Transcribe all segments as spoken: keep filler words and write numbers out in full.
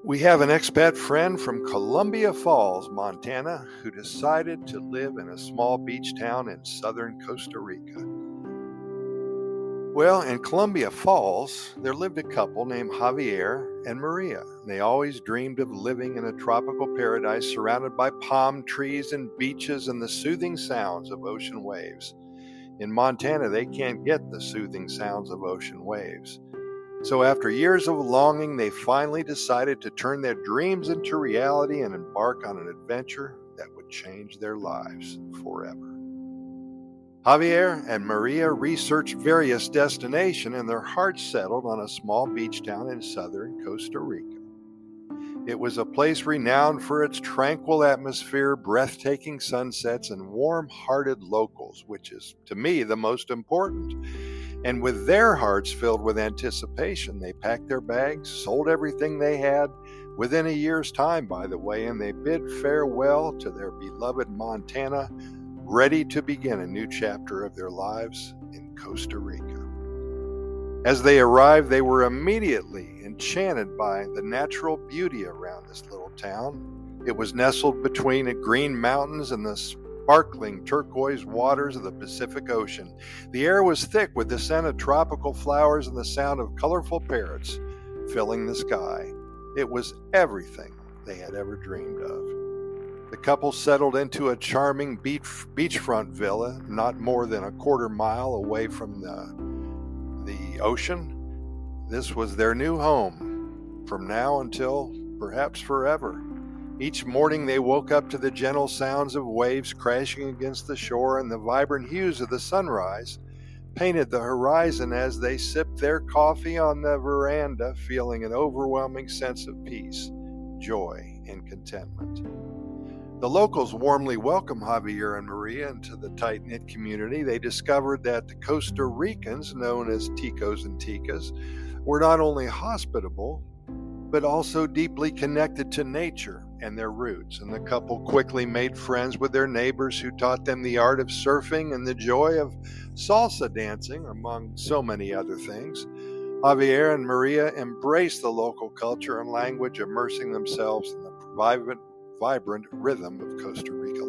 We have an expat friend from Columbia Falls, Montana, who decided to live in a small beach town in southern Costa Rica. Well, in Columbia Falls, there lived a couple named Javier and Maria. They always dreamed of living in a tropical paradise surrounded by palm trees and beaches and the soothing sounds of ocean waves. In Montana, they can't get the soothing sounds of ocean waves. So after years of longing, they finally decided to turn their dreams into reality and embark on an adventure that would change their lives forever. Javier and Maria researched various destinations, and their hearts settled on a small beach town in southern Costa Rica. It was a place renowned for its tranquil atmosphere, breathtaking sunsets, and warm-hearted locals, which is, to me, the most important. And with their hearts filled with anticipation, they packed their bags, sold everything they had, within a year's time, by the way, and they bid farewell to their beloved Montana, ready to begin a new chapter of their lives in Costa Rica. As they arrived, they were immediately enchanted by the natural beauty around this little town. It was nestled between the green mountains and the sparkling turquoise waters of the Pacific Ocean. The air was thick with the scent of tropical flowers and the sound of colorful parrots filling the sky. It was everything they had ever dreamed of. The couple settled into a charming beach, beachfront villa not more than a quarter mile away from the, the ocean. This was their new home from now until perhaps forever. Each morning they woke up to the gentle sounds of waves crashing against the shore, and the vibrant hues of the sunrise painted the horizon as they sipped their coffee on the veranda, feeling an overwhelming sense of peace, joy, and contentment. The locals warmly welcomed Javier and Maria into the tight-knit community. They discovered that the Costa Ricans, known as Ticos and Ticas, were not only hospitable, but also deeply connected to nature and their roots. And the couple quickly made friends with their neighbors who taught them the art of surfing and the joy of salsa dancing, among so many other things. Javier and Maria embraced the local culture and language, immersing themselves in the vibrant, vibrant rhythm of Costa Rica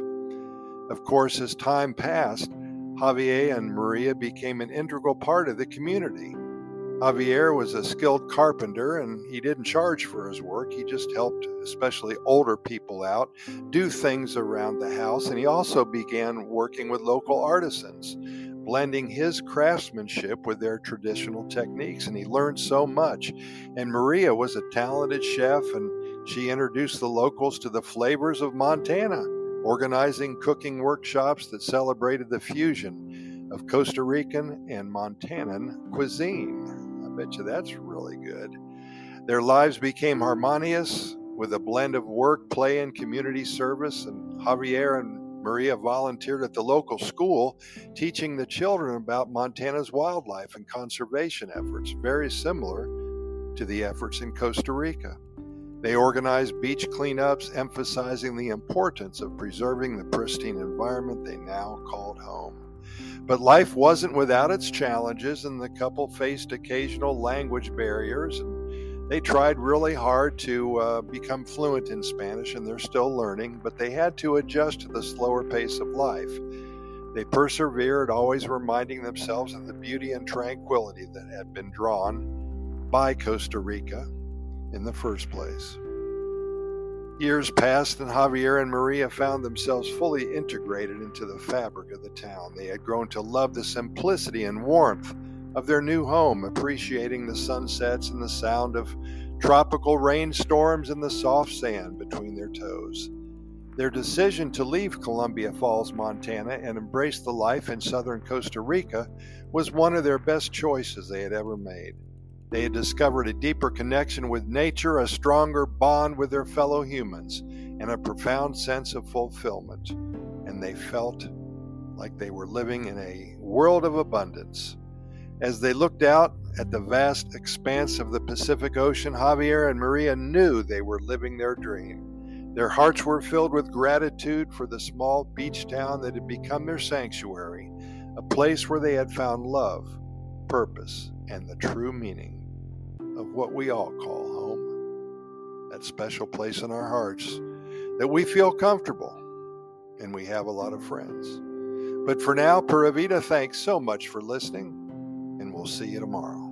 life. Of course, as time passed, Javier and Maria became an integral part of the community. Javier was a skilled carpenter, and he didn't charge for his work. He just helped especially older people out, do things around the house, and he also began working with local artisans, blending his craftsmanship with their traditional techniques, and he learned so much. And Maria was a talented chef, and she introduced the locals to the flavors of Montana, organizing cooking workshops that celebrated the fusion of Costa Rican and Montanan cuisine. I bet you that's really good. Their lives became harmonious with a blend of work, play, and community service, and Javier and Maria volunteered at the local school, teaching the children about Montana's wildlife and conservation efforts, very similar to the efforts in Costa Rica. They organized beach cleanups, emphasizing the importance of preserving the pristine environment they now called home. But life wasn't without its challenges, and the couple faced occasional language barriers, and they tried really hard to uh, become fluent in Spanish, and they're still learning, but they had to adjust to the slower pace of life. They persevered, always reminding themselves of the beauty and tranquility that had been drawn by Costa Rica in the first place. Years passed, and Javier and Maria found themselves fully integrated into the fabric of the town. They had grown to love the simplicity and warmth of their new home, appreciating the sunsets and the sound of tropical rainstorms and the soft sand between their toes. Their decision to leave Columbia Falls, Montana, and embrace the life in southern Costa Rica was one of their best choices they had ever made. They had discovered a deeper connection with nature, a stronger bond with their fellow humans, and a profound sense of fulfillment. And they felt like they were living in a world of abundance. As they looked out at the vast expanse of the Pacific Ocean, Javier and Maria knew they were living their dream. Their hearts were filled with gratitude for the small beach town that had become their sanctuary, a place where they had found love, purpose, and the true meaning of what we all call home. that special place in our hearts that we feel comfortable and we have a lot of friends. But for now, Pura Vida, thanks so much for listening, and we'll see you tomorrow.